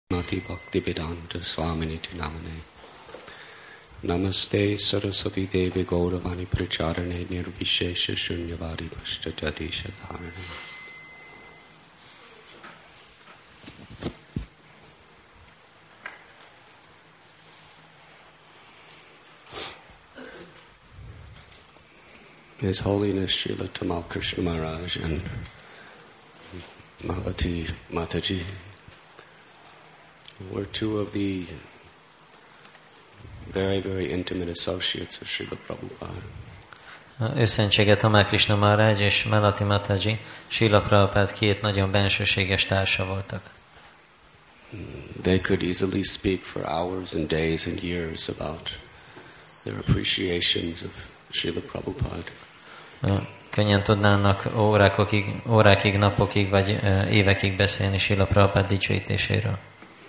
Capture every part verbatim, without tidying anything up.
Mati Bhaktivedanta Swaminiti Namane Namaste Saraswati Devi Gauravani Pracharane Nirvishesha Shunyavadi Pashtadisha Dharana. His Holiness Srila Tamal Krishna Maharaj and Malati Mataji were two of the very, very intimate associates of Srila Prabhupada. Őszentsége Tamal Krishna Maharaj és Malati Mataji Srila Prabhupada két nagyon bensőséges társa voltak. They could easily speak for hours and days and years about their appreciations of Srila Prabhupada. Könnyen tudnának órákig, órákig, napokig vagy évekig beszélni Srila Prabhupada dicsőítéséről.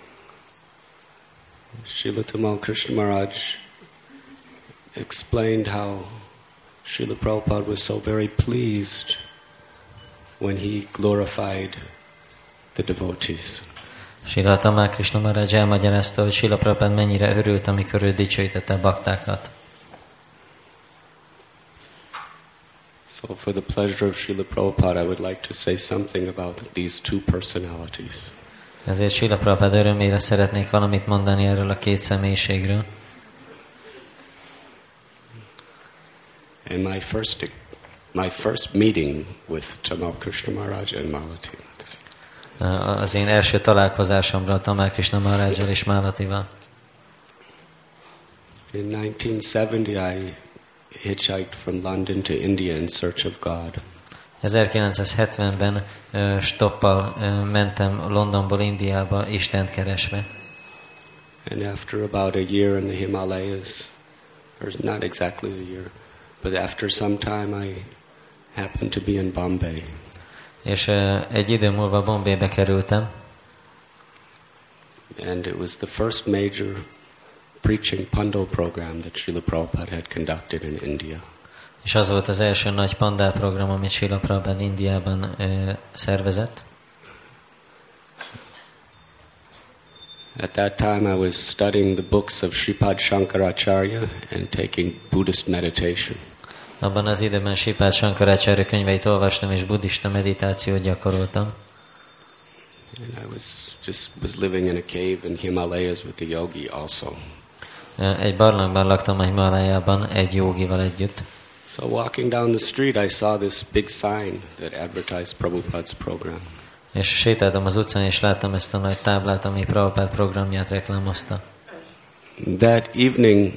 Srila Tamal Krishna Maharaj explained how Srila Prabhupada was so very pleased when he glorified the devotees. Srila Tamal Krishna Maharaj elmagyarázta, hogy Srila Prabhupada mennyire örült, amikor ő dicsőítette a baktákat. So for the pleasure of Srila Prabhupada, I would like to say something about these two personalities. Ezért Srila Prabhupada örömére szeretnék valamit mondani erről a két személyiségről. And my first, my first meeting with Tamal Krishna Maharaj and Malati Mataji. Az én első találkozásomra Tamal Krishna Maharajjal és Malatival. In nineteen seventy, I hitchhiked from London to India in search of God. ezerkilencszázhetvenben uh, stoppal uh, mentem Londonból Indiába Istent keresve. And after about a year in the Himalayas, or not exactly a year, but after some time I happened to be in Bombay. És uh, egy idő múlva Bombaybe kerültem. And it was the first major preaching Pandal program that Srila Prabhupada had conducted in India. És az volt az első nagy Pandal program, amit Srila Prabhupada Indiában uh, szervezett. At that time I was studying the books of Sripad Shankaracharya and taking Buddhist meditation. Abban az időben Sripad Shankaracharya könyveit olvastam és buddhista meditációt gyakoroltam. And I was just was living in a cave in Himalayas with a yogi also. Egy barlangban laktam a Himalájában egy jogival együtt. So walking down the street I saw this big sign that advertised Prabhupada's program. És sétáltam az utcán és láttam ezt a nagy táblát, ami Prabhupada programját reklámozta. That evening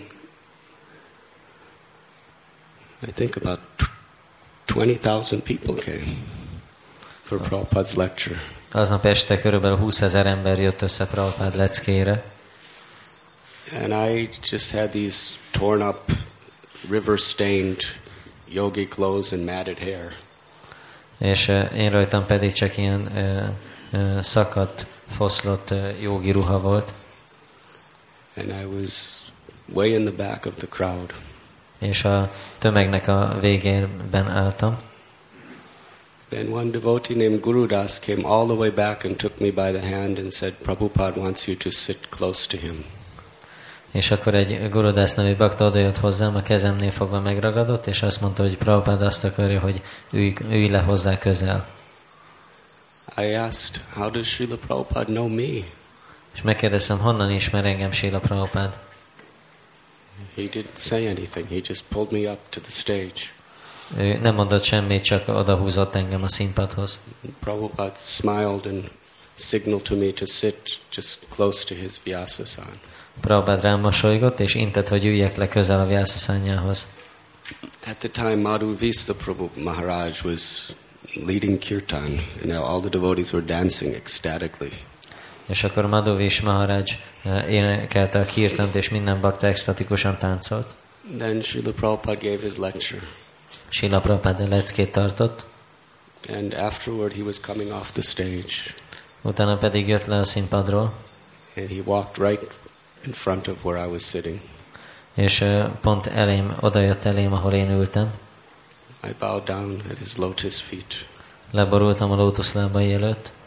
I think about twenty thousand people came for Prabhupada's lecture. Aznap este körülbelül húszezer ember jött össze Prabhupada leckéjére. And I just had these torn up, river-stained yogi clothes and matted hair. És uh, én rajtam pedig csak ilyen uh, uh, szakadt, foszlott uh, jogi ruha volt. And I was way in the back of the crowd. És a tömegnek a végében álltam. Then one devotee named Gurudas came all the way back and took me by the hand and said, Prabhupada wants you to sit close to him. És akkor egy Gurudas nevű bakta odajött hozzám, a kezemnél fogva megragadott, és azt mondta, hogy Prabhupada azt akarja, hogy ülj, ülj le hozzá közel. I asked, how does Srila Prabhupada know me? És megkérdeztem, honnan ismer engem Srila Prabhupada? He didn't say anything. He just pulled me up to the stage. Ő nem mondott semmit, csak odahúzott engem a színpadhoz. Prabhupada smiled and signaled to me to sit just close to his Vyasasana. Prabhupada rám mosolygott, és intett, hogy üljek le közel a Vyasasanyához. At the time, Madhu Vista Prabhu Maharaj was leading kirtan, and all the devotees were dancing ecstatically. És akkor Madhu Vista Maharaj énekelte a kirtant, és minden bakta extatikusan táncolt. Then Srila Prabhupada gave his lecture. Srila Prabhupada leckét tartott. And afterward he was coming off the stage. Utána pedig jött le a színpadról. And he walked right in front of where I was sitting. És pont elém, odajött elém, ahol én ültem. I bowed down at his lotus feet. Leborultam a lótuszlábai előtt.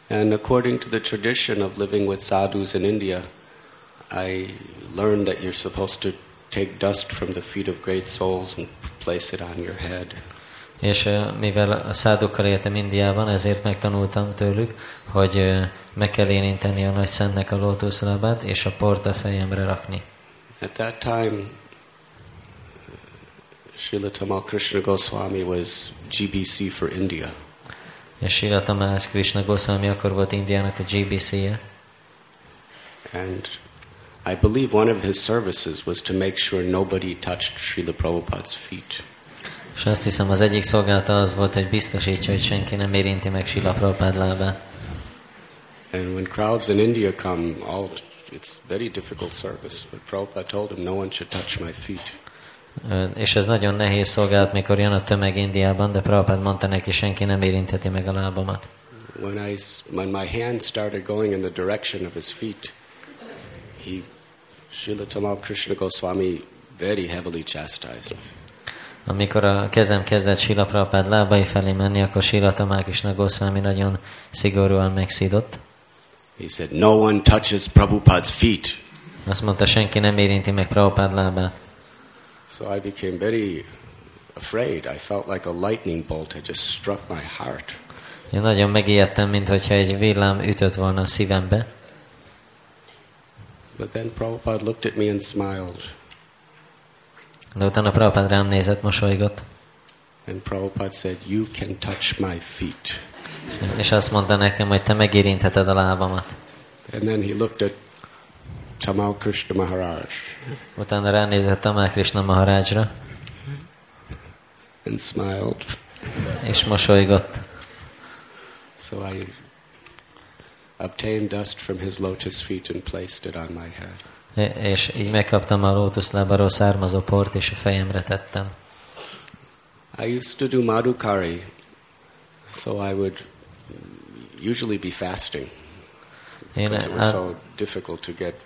And according to the tradition of living with sadhus in India, I learned that you're supposed to take dust from the feet of great souls and place it on your head. És mivel a szádukkal éltem Indiában, ezért megtanultam tőlük, hogy meg kell érinteni a nagy szentnek a lótuszlábát, és a port a fejemre rakni. At that time, Srila Tamal Krishna Goswami was G B C for India. És Srila Tamal Krishna Goswami akkor volt Indiának a G B C-je. And I believe one of his services was to make sure nobody touched Srila Prabhupada's feet. És azt hiszem, az egyik szolgálata az volt, hogy biztosítsa, hogy senki nem érinti meg Srila Prabhupád lábát. And when crowds in India come, all it's very difficult service. But Prabhupada told him, no one should touch my feet. És ez nagyon nehéz szolgálat, mikor jön a tömeg Indiában, de Prabhupád mondta neki, senki nem érintheti meg a lábamat. When I, when my hand started going in the direction of his feet, he, Srila Tamal Krishna Goswami, very heavily chastised me. Amikor a kezem kezdett Srila Prabhupád lábai felé menni, akkor Srila Tamal Krishna Goswami nagyon szigorúan megszidott. He said, no one touches Prabhupada's feet. Azt mondta, senki nem érinti meg Prabhupád lábát. So I became very afraid. I felt like a lightning bolt had just struck my heart. Én nagyon megijedtem, minthogyha egy villám ütött volna a szívembe. But then Prabhupada looked at me and smiled. De utána Prabhupád rám nézett, mosolygott. And Prabhupada said, you can touch my feet. És azt mondta nekem, hogy te megérintheted a lábamat. And then he looked at Tamal Krishna Maharaj. Utána ránézett Tamal Krishna Maharajra. And smiled. És mosolygott. So I obtained dust from his lotus feet and placed it on my head. És így megkaptam a lótuszlábáról származó port, és a fejemre tettem. I used to do madhukari, so I would usually be fasting. Én Because it was so difficult to get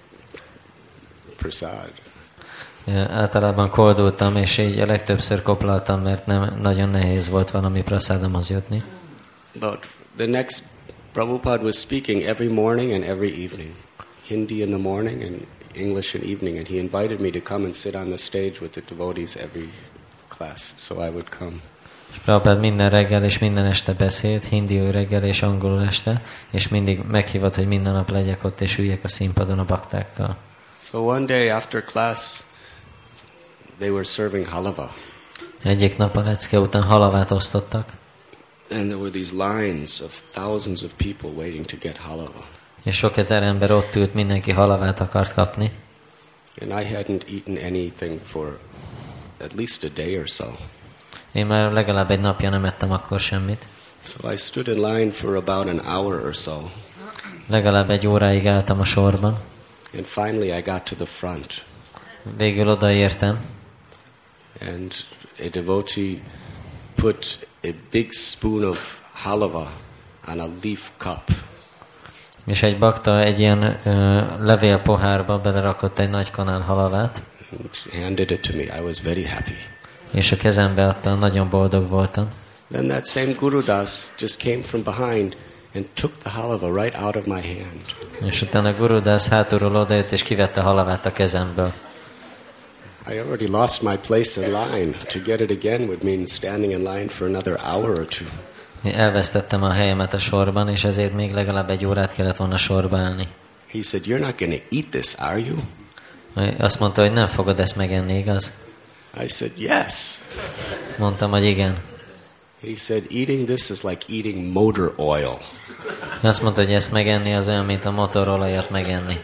prasad. Általában koldultam, és így a legtöbbször koplaltam, mert nem, nagyon nehéz volt valami praszádomhoz jutni. But the next, Prabhupada was speaking every morning and every evening. Hindi in the morning and English in evening. And he invited me to come and sit on the stage with the devotees every class. So I would come. És Prabhupád minden reggel és minden este beszélt, hindiul reggel és angolul este, és mindig meghívott, hogy minden nap legyek ott, és üljek a színpadon a baktákkal. So one day after class, they were serving halava. Egyik nap a lecke után halavát osztottak. And there were these lines of thousands of people waiting to get halava. És sok ezer ember ott ült, mindenki halavát akart kapni. And I hadn't eaten anything for at least a day or so. Én már legalább egy napja nem ettem akkor semmit. So I stood in line for about an hour or so. Legalább egy óráig álltam a sorban. And finally I got to the front. Végül odaértem. And a devotee put a big spoon of halava on a leaf cup. És egy bakta egy ilyen ö, levél pohárba belerakott egy nagy kanál halavát. And handed it to me. I was very happy. És a kezembe adta, nagyon boldog voltam. Then that same Gurudas just came from behind and took the halava right out of my hand. És utána Gurudas hátulról odajött és kivette a halavát a kezemből. I already lost my place in line. To get it again would mean standing in line for another hour or two. Én elvesztettem a helyemet a sorban, és ezért még legalább egy órát kellett volna sorba állni. He said, "You're not going to eat this, are you?" Azt mondta, hogy nem fogod ezt megenni, igaz? I said, "Yes." Mondtam, hogy igen. He said, "Eating this is like eating motor oil." Azt mondta, hogy ezt megenni az olyan, mint a motorolajat megenni.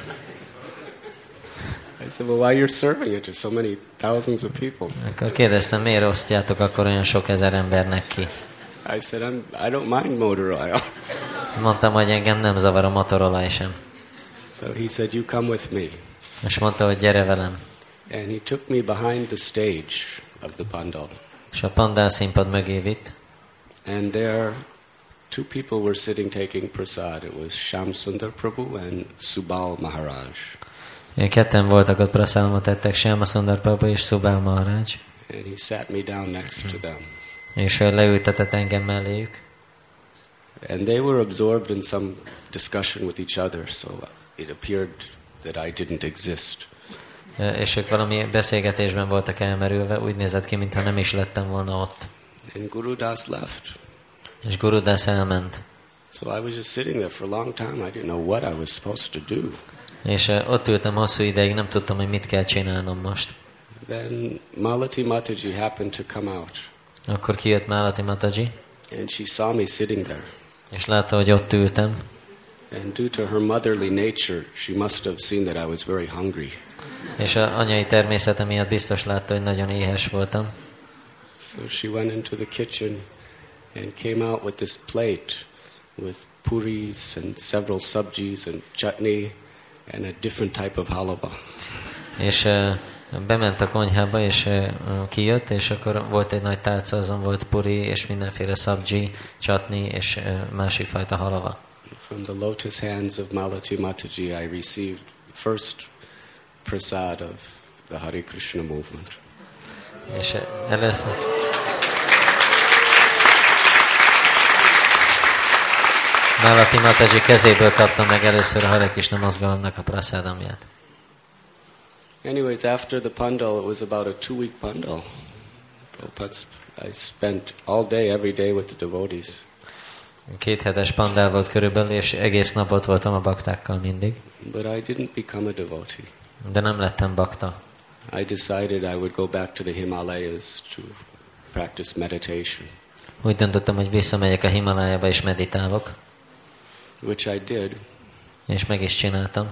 I said, "Well, why you're serving it to so many thousands of people?" Akkor kérdeztem, miért osztjátok akkor olyan sok ezer embernek ki? I said, I'm, I don't mind motor oil. Mondtam, hogy engem nem zavar a motorolaj sem. So he said, "You come with me." És mondta, hogy gyere velem. And he took me behind the stage of the pandal. És a pandál színpad mögé vitt. And there, two people were sitting taking prasad. It was Shyam Sundar Prabhu and Subal Maharaj. Ketten voltak ott, praszámot ettek, Shyam Sundar Prabhu és Subal Maharaj. And he sat me down next to them. És leültetett engem melléjük. And they were absorbed in some discussion with each other, so it appeared that I didn't exist. És ők valami beszélgetésben voltak elmerülve, úgy nézett ki, mintha nem is lettem volna ott. And Guru Das left. És Guru Das elment. So I was just sitting there for a long time. I didn't know what I was supposed to do. És ott ültem hosszú ideig, nem tudtam, hogy mit kell csinálnom most. Then Malati Mataji happened to come out. Akkor kijött Malati Mataji. And she saw me sitting there. És látta, hogy ott ültem. And due to her motherly nature, she must have seen that I was very hungry. És az anyai természete miatt biztos látta, hogy nagyon éhes voltam. So she went into the kitchen and came out with this plate with puris and several sabjis and chutney and a different type of halaba. És uh, bement a konyhába, és uh, kijött, és akkor volt egy nagy tálca, azon volt puri, és mindenféle sabji, chutney, és uh, másik fajta halava. From the lotus hands of Malati Mataji, I received first prasad of the Hare Krishna movement. És először... Malati Mataji kezéből kaptam meg először a Hare Krishna mozgalomnak a prasadamját. Anyways, after the pandal, it was about a two-week pandal. I spent all day, every day with the devotees. Két hetes pandál volt körülbelül, és egész nap ott voltam a baktákkal mindig. But I didn't become a devotee. De nem lettem bakta. I decided I would go back to the Himalayas to practice meditation. Úgy döntöttem, hogy visszamegyek a Himalájába és meditálok. Which I did. És meg is csináltam.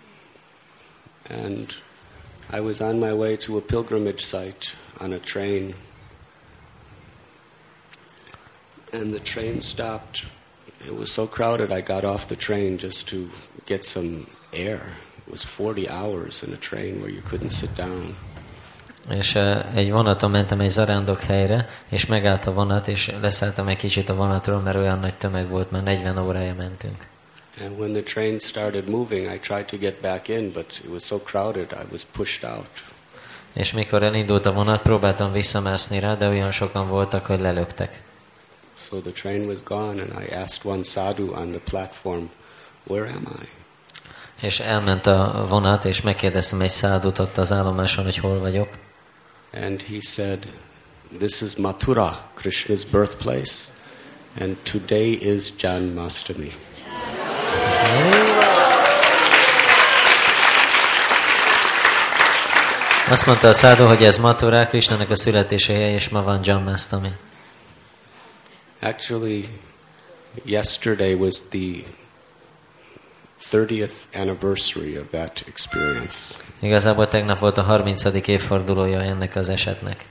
And I was on my way to a pilgrimage site on a train. And the train stopped. It was so crowded I got off the train just to get some air. It was forty hours in a train where you couldn't sit down. És uh, egy vonaton mentem egy zarándok helyre, és megállt a vonat, és leszálltam egy kicsit a vonatról, mert olyan nagy tömeg volt, már negyven órája mentünk. And when the train started moving, I tried to get back in, but it was so crowded, I was pushed out. És mikor elindult a vonat, próbáltam visszamászni rá, de olyan sokan voltak, hogy lelöktek. So the train was gone, and I asked one sadhu on the platform, "Where am I?" És elment a vonat, és megkérdeztem egy szádut ott az állomáson, hogy hol vagyok. And he said, "This is Mathura, Krishna's birthplace, and today is Janmashtami." Azt mondta a szádu, hogy ez Mathura, Krishnának a születéshelye, és ma van Janmashtami. Actually, yesterday was the thirtieth anniversary of that experience. Igazából tegnap volt a harmincadik évfordulója ennek az esetnek.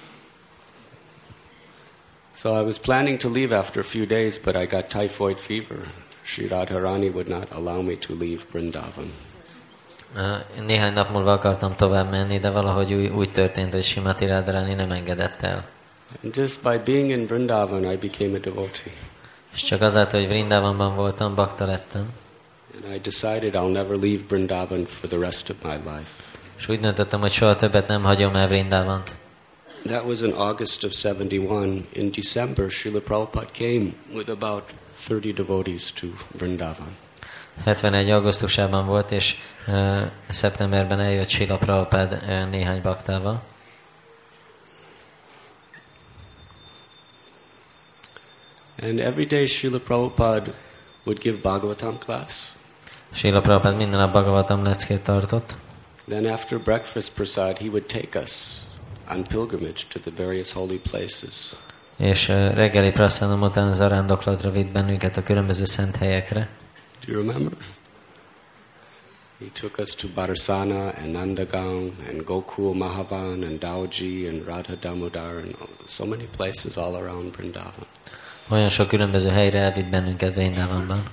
So I was planning to leave after a few days, but I got typhoid fever. Sri Radharani would not allow me to leave Vrindavan. Néhány nap múlva akartam tovább menni, de valahogy úgy, úgy történt, hogy Srimati Radharani nem engedett el. And just by being in Vrindavan, I became a devotee. És csak azáltal, hogy Vrindavanban voltam, bakta lettem. And I decided I'll never leave Vrindavan for the rest of my life. És úgy döntöttem, hogy soha többet nem hagyom el Vrindavant. That was in August of seventy-one. In December, Srila Prabhupada came with about thirty devotees to Vrindavan. hetvenegy augusztusában volt, és uh, szeptemberben eljött Srila Prabhupada uh, néhány baktával. And every day Srila Prabhupada would give Bhagavatam class. Srila Prabhupada minden nap Bhagavatam leckét tartott. Then after breakfast prasad, he would take us on pilgrimage to the various holy places. És uh, reggeli prasadam után az arándoklatra vitt bennünket a különböző szent helyekre. Do you remember? He took us to Barsana and Nandagaon and Gokul Mahavan and Dauji and Radha Damodar and so many places all around Vrindavan. Olyan sok különböző helyre elvitt bennünket Vrindavanban.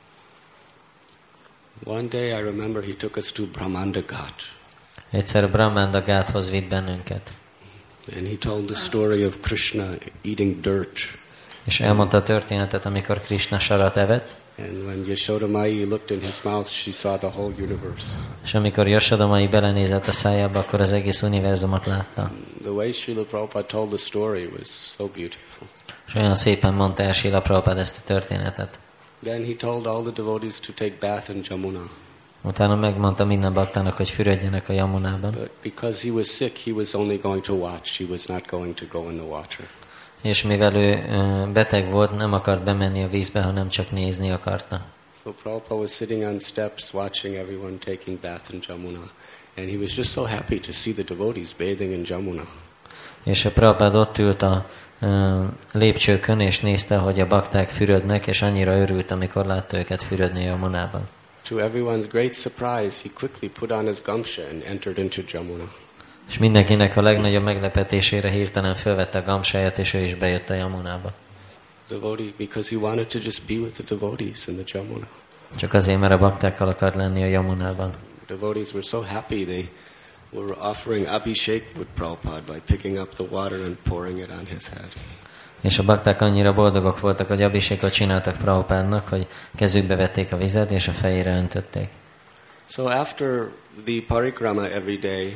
One day I remember he took us to Brahmanda Ghat. Egyszer Brahmanda Ghathoz vitt bennünket. And he told the story of Krishna eating dirt. És elmondta a történetet, amikor Krishna sarat evett. And when Yashoda Mai looked in his mouth, she saw the whole universe. És amikor Yashoda Mai belenézett a szájába, akkor az egész univerzumot látta. the way Srila Prabhupada told the story was so beautiful. És olyan szépen mondta el Srila Prabhupada ezt a történetet. Then he told all the devotees to take bath in Jamuna. Utána megmondta minden baktának, hogy fürödjenek a Yamunában. But because he was sick, he was only going to watch. He was not going to go in the water. És mivel ő beteg volt, nem akart bemenni a vízbe, hanem csak nézni akarta. So Prabhupada was sitting on steps watching everyone taking bath in Jamuna. And he was just so happy to see the devotees bathing in Jamuna. És a Prabhupada ott ült a uh, lépcsőkön, és nézte, hogy a bakták fürödnek, és annyira örült, amikor látta őket fürödni a Yamunában. To everyone's great surprise, he quickly put on his gamsha and entered into Jamuna. És mindenkinek a legnagyobb meglepetésére hirtelen fölvette a gamsáját, és ő is bejött a Yamunába. Devotee, because he wanted to just be with the devotees in the Jamuna. Csak azért, mert a baktákkal akart lenni a Yamunában. The devotees were so happy they were offering abhishek with Prabhupada by picking up the water and pouring it on his head. És a bakták annyira boldogok voltak, hogy abhisekot csináltak Prabhupádnak, hogy kezükbe vették a vizet, és a fejére öntötték. So after the parikrama every day,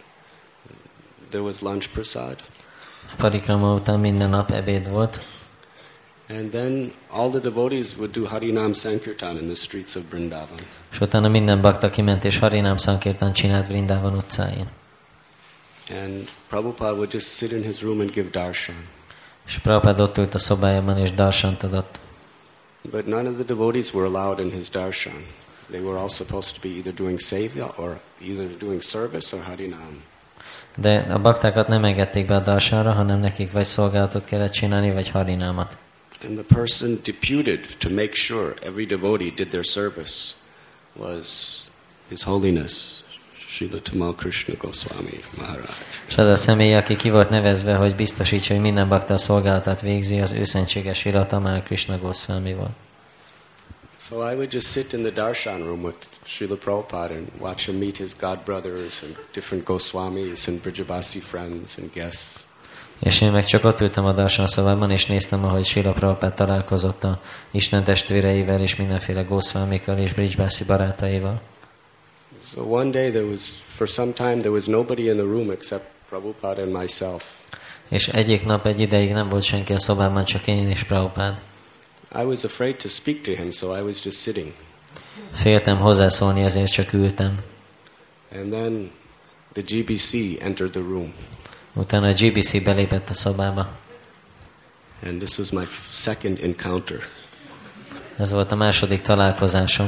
there was lunch prasad. A parikrama után minden nap ebéd volt. And then all the devotees would do Harinam Sankirtan in the streets of Vrindavan. És utána minden bakta kiment, és Harinam Sankirtan csinált Vrindavan utcáin. And Prabhupada would just sit in his room and give darshan. És Prabhupada ott ült a szobájában, és darsant adott. But none of the devotees were allowed in his darshan. They were all supposed to be either doing sevya or either doing service or Harinam. De a baktákat nem engedték be a darsanra, hanem nekik vagy szolgálatot kellett csinálni, vagy harinámat. And the person deputed to make sure every devotee did their service was His Holiness Srila Tamal Krishna Goswami Maharaj. És az a személy, aki ki volt nevezve, hogy biztosítsa, hogy minden bakta a szolgálatát végzi, az őszentséges Srila Tamal Krishna Goswami volt. So I would just sit in the darshan room with Srila Prabhupada and watch him meet his god brothers and different Goswamis and Brijabasi friends and guests. És én meg csak ott ültem a darsan szobában, és néztem, ahogy Srila Prabhupada találkozott a Isten testvéreivel, és mindenféle Goswamikkal és Brijbasi barátaival. So one day there was, for some time, there was nobody in the room except Prabhupada and myself. És egyik nap egy ideig nem volt senki a szobában, csak én és Prabhupada. I was afraid to speak to him, so I was just sitting. Féltem hozzászólni, ezért csak ültem. And then the G B C entered the room. Utána a G B C belépett a szobába. And this was my second encounter. Ez volt a második találkozásom.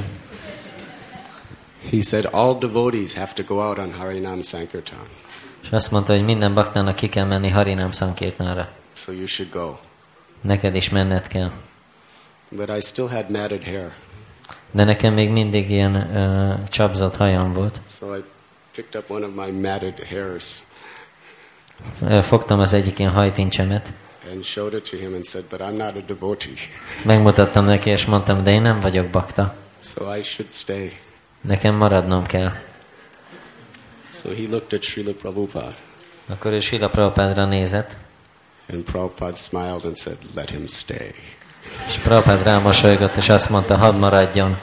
He said all devotees have to go out on Harinam Sankirtan. És azt mondta, hogy minden baktának ki kell menni Harinam Sankirtanra. So you should go. Neked is menned kell. But I still had matted hair. De nekem még mindig ilyen uh, csapzott hajam volt. So I picked up one of my matted hairs. Fogtam az egyik ilyen hajtincsemet. And showed it to him and said, but I'm not a devotee. Megmutattam neki, és mondtam, de én nem vagyok bakta. So I should stay. Nekem maradnom kell. So he looked at Srila Prabhupada. Akkor ő Srila Prabhupádra nézett. And Prabhupada smiled and said, let him stay. És Prabhupada rámosolygott, és azt mondta, hadd maradjon.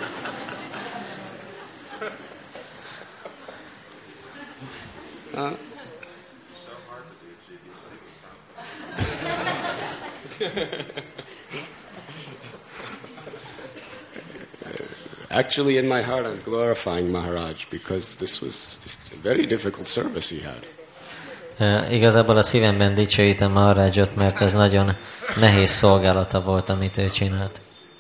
Uh, Actually, in my heart, I'm glorifying Maharaj because this was just a very difficult service he had. Uh, igazából a szívemben dicsőítem Maharajot, mert ez nagyon nehéz szolgálata volt, amit ő csinált.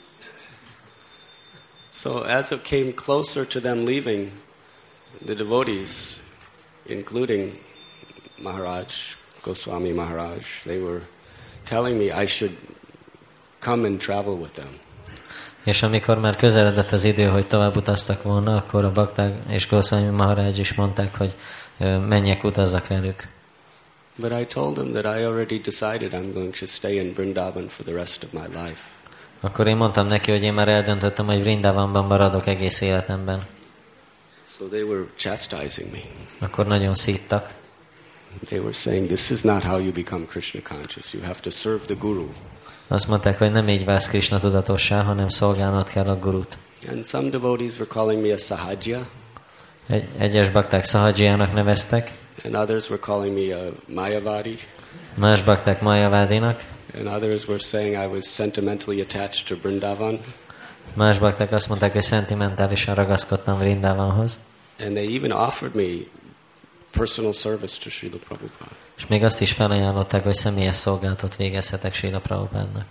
So as it came closer to them leaving, the devotees, including Maharaj, Goswami Maharaj, they were telling me I should come and travel with them. És amikor már közeledett az idő, hogy tovább utaztak volna, akkor a bakták és Goswami Maharaj is mondták, hogy menjek, utazzak velük. But I told them that I already decided I'm going to stay in Vrindavan for the rest of my life. Akkor én mondtam neki, hogy én már eldöntöttem, hogy Vrindavanban maradok egész életemben. So they were chastising me. Akkor nagyon szíttak. They were saying, this is not how you become Krishna conscious. You have to serve the Guru. Azt mondták, hogy nem így válsz Krishna tudatossá, hanem szolgálnod kell a Gurut. And some devotees were calling me a Sahajya. Egy, egyes bakták Sahajjának neveztek. And others were calling me a Mayavadi. Más bakták Mayavádinak. And others were saying I was sentimentally attached to Vrindavan. Más bakták azt mondták, hogy szentimentálisan ragaszkodtam Vrindavanhoz. And they even offered me personal service to Srila Prabhupada. És még azt is felajánlották, hogy személyes szolgálatot végezhetek Srila Prabhupádnak.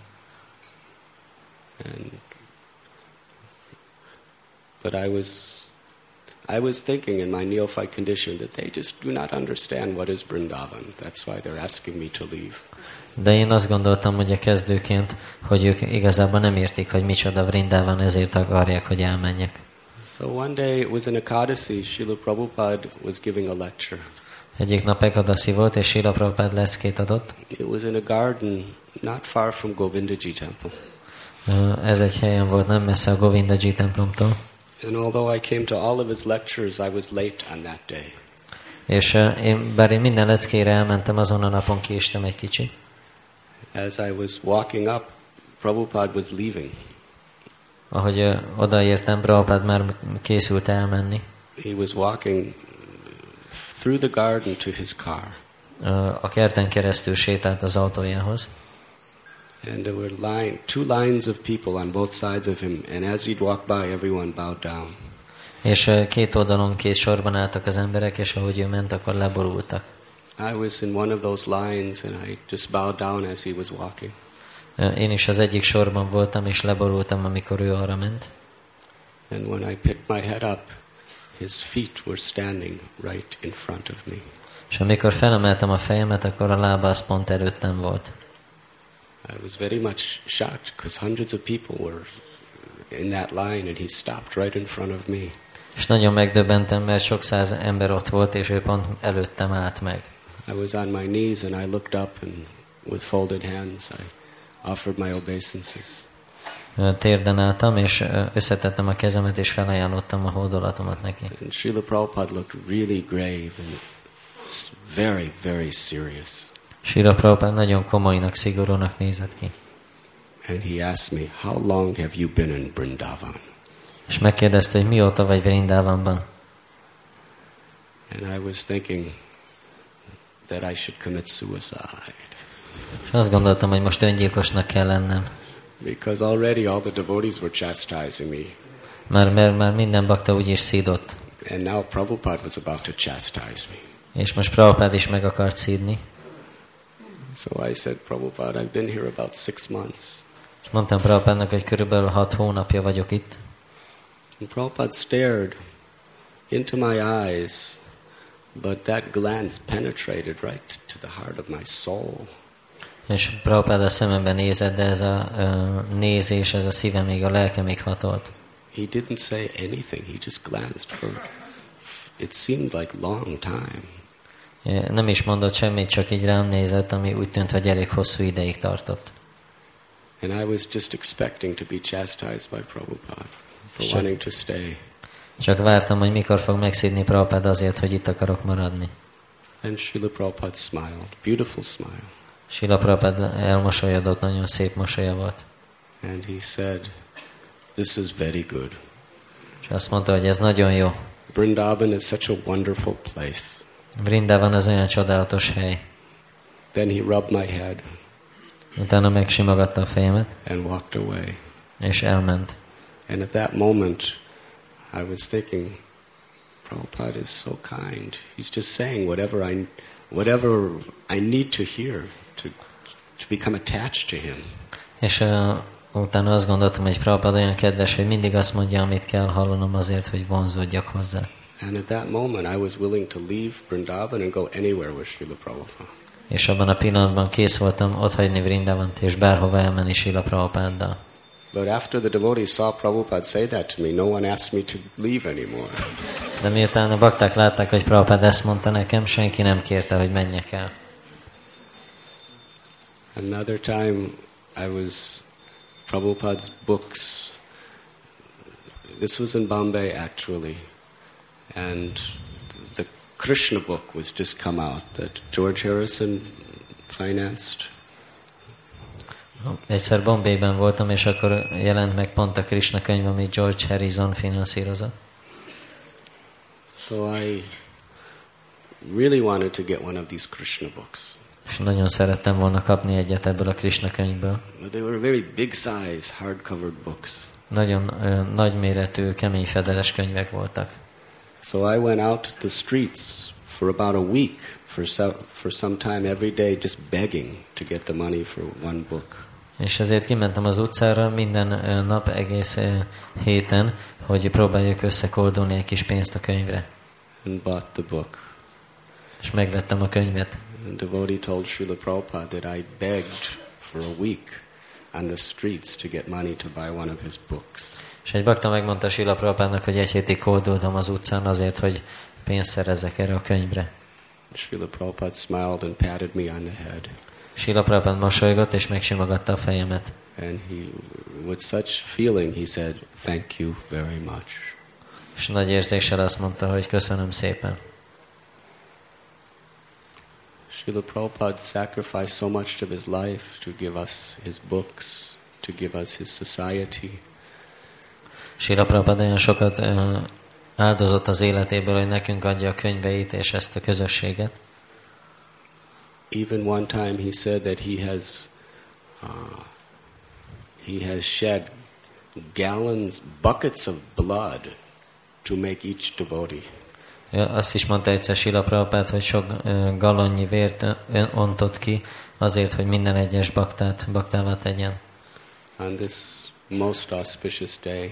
And but I was I was thinking in my neophyte condition that they just do not understand what is Vrindavan. That's why they're asking me to leave. De én azt gondoltam, hogy a kezdőként, hogy ők igazából nem értik, hogy micsoda Vrindavan, ezért akarják, hogy elmenjek. So one day it was in Ekadasi, Srila Prabhupada was giving a lecture. Egyik nap Ekadasi volt, és Srila Prabhupada leckét adott. It was in a garden not far from Govindaji temple. Ez egy helyen volt, nem messze a Govindaji templomtól. And although I came to all of his lectures, I was late on that day. És én, bár én minden leckére elmentem, azon a napon késtem egy kicsit. As I was walking up, Prabhupada was leaving. Ahogy uh, odaértem, Prabhupada már készült elmenni. He was walking through the garden to his car. Uh, a kerten keresztül sétált az autójához. And there were line, two lines of people on both sides of him, and as he'd walk by, everyone bowed down. És uh, két oldalon két sorban álltak az emberek, és ahogy ő ment, akkor leborultak. I was in one of those lines, and I just bowed down as he was walking. Uh, én is az egyik sorban voltam, és leborultam, amikor ő arra ment. And when I picked my head up, his feet were standing right in front of me. És amikor felemeltem a fejemet, akkor a lába az pont előttem volt. I was very much shocked because hundreds of people were in that line and he stopped right in front of me. És nagyon megdöbbentem, mert sok száz ember ott volt, és ő pont előttem állt meg. I was on my knees and I looked up and with folded hands I offered my obeisances. Térden álltam, és összetettem a kezemet, és felajánlottam a hódolatomat neki. And Srila Prabhupada looked really grave and very, very serious. Srila Prabhupada nagyon komolynak, szigorúnak nézett ki. And he asked me, how long have you been in Vrindavan? És megkérdezte, hogy mióta vagy Vrindavanban. And I was thinking that I should commit suicide. És azt gondoltam, hogy most öngyilkosnak kell lennem. Because already all the devotees were chastising me. Már, mert már minden bakta úgyis szídott. And now Prabhupada was about to chastise me. És most Prabhupada is meg akart szídni. So I said, Prabhupada, I've been here about six months. És mondtam Prabhupádnak, hogy körülbelül hat hónapja vagyok itt. And Prabhupada stared into my eyes, but that glance penetrated right to the heart of my soul. És Prabhupád a szememben nézett, de ez a uh, nézés, ez a szívemig, a lelkemig hatolt. He didn't say anything. He just glanced for, it seemed like long time. Nem is mondott semmit, csak így rám nézett, ami úgy tűnt, hogy elég hosszú ideig tartott. And I was just expecting to be chastised by Prabhupada for Sure. wanting to stay. Csak vártam, hogy mikor fog megszídni Prabhupada azért, hogy itt akarok maradni. And Srila Prabhupada smiled. Beautiful smile. Srila Prabhupada elmosolyodott, nagyon szép mosolya volt. And he said, this is very good. És azt mondta, hogy ez nagyon jó. Vrindavan is such a wonderful place. Vrindavan az olyan csodálatos hely. Then he rubbed my head Utána megsimogatta a fejemet, and walked away. és elment. And at that moment, I was thinking, Prabhupada is so kind. He's just saying whatever I, whatever I need to hear to, to become attached to him. És uh, utána azt gondoltam, hogy Prabhupada olyan kedves, hogy mindig azt mondja, amit kell hallanom azért, hogy vonzódjak hozzá. And at that moment, I was willing to leave Vrindavan and go anywhere with Srila Prabhupada. És abban a pillanatban kész voltam otthagyni Vrindavant, és bárhova elmenni Srila Prabhupáddal. But after the devotees saw Prabhupada say that to me, no one asked me to leave anymore. De miután a bakták látták, hogy Prabhupada ezt mondta nekem, senki nem kérte, hogy menjek el. Another time, I was Prabhupada's books. This was in Bombay, actually. And the Krishna book was just come out that George Harrison financed. Egyszer Bombayben voltam, és akkor jelent meg pont a Krishna könyv, amit George Harrison finanszírozott. So I really wanted to get one of these Krishna books. És nagyon szerettem volna kapni egyet ebből a Krishna könyvből. But they were very big size, hard-covered books. Nagyon ö, nagyméretű, kemény fedeles könyvek voltak. So I went out to the streets for about a week, for, so, for some time every day, just begging to get the money for one book. És ezért kimentem az utcára minden ö, nap, egész ö, héten, hogy próbáljuk összekoldulni egy kis pénzt a könyvre. And bought the book. És megvettem a könyvet. And the devotee told Srila Prabhupada that I begged for a week on the streets to get money to buy one of his books. És egy bakta megmondta Srila Prabhupádnak, hogy egy hétig koldultam az utcán azért, hogy pénzt szerezzek erre a könyvre. Srila Prabhupada smiled and patted me on the head. Srila Prabhupád mosolygott és megsimogatta a fejemet. And he, with such feeling, he said, "Thank you very much." És nagy érzéssel azt mondta, hogy köszönöm szépen. Srila Prabhupada sacrificed so much of his life to give us his books, to give us his society. Srila Prabhupada olyan sokat uh, áldozott az életéből, hogy nekünk adja a könyveit és ezt a közösséget. Even one time he said that he has uh, he has shed gallons, buckets of blood to make each devotee. Ja, azt is mondta egyszer Srila Prabhupád, hogy sok uh, galonnyi vért ontott ki azért, hogy minden egyes baktát baktává tegyen. On this most auspicious day,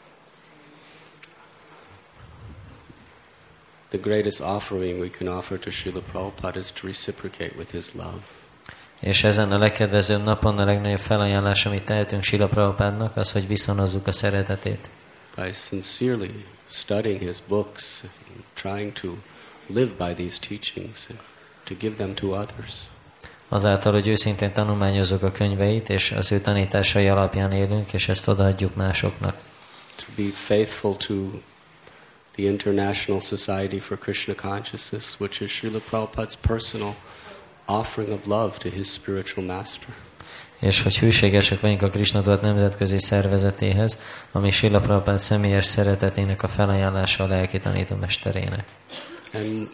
the greatest offering we can offer to Srila Prabhupada is to reciprocate with his love. És ezen a legkedvezőbb napon a legnagyobb felajánlás, amit tehetünk Srila Prabhupádnak, az, hogy viszonozzuk a szeretetét. By sincerely studying his books, trying to live by these teachings, to give them to others. Azáltal, hogy őszintén tanulmányozzuk a könyveit, és az ő tanításai alapján élünk, és ezt odaadjuk másoknak. To be faithful to the International Society for Krishna Consciousness, which is Srila Prabhupada's personal offering of love to his spiritual master. És hogy hűségesek vagyunk a Krishna Tudat nemzetközi szervezetéhez, ami Srila Prabhupád személyes szeretetének a felajánlása a lelki tanítómesterének. And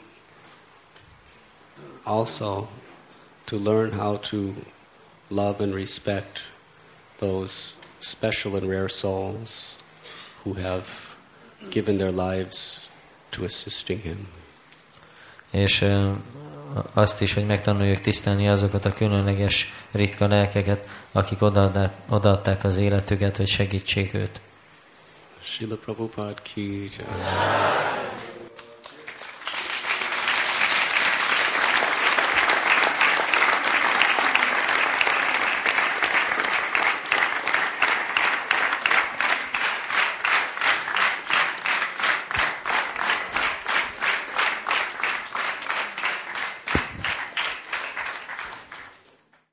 also to learn how to love and respect those special and rare souls who have given their lives to assisting him. És uh, azt is, hogy megtanuljuk tisztelni azokat a különleges, ritka lelkeket, akik odaadták az életüket, hogy segítsék őt. Srila Prabhupada ki jai.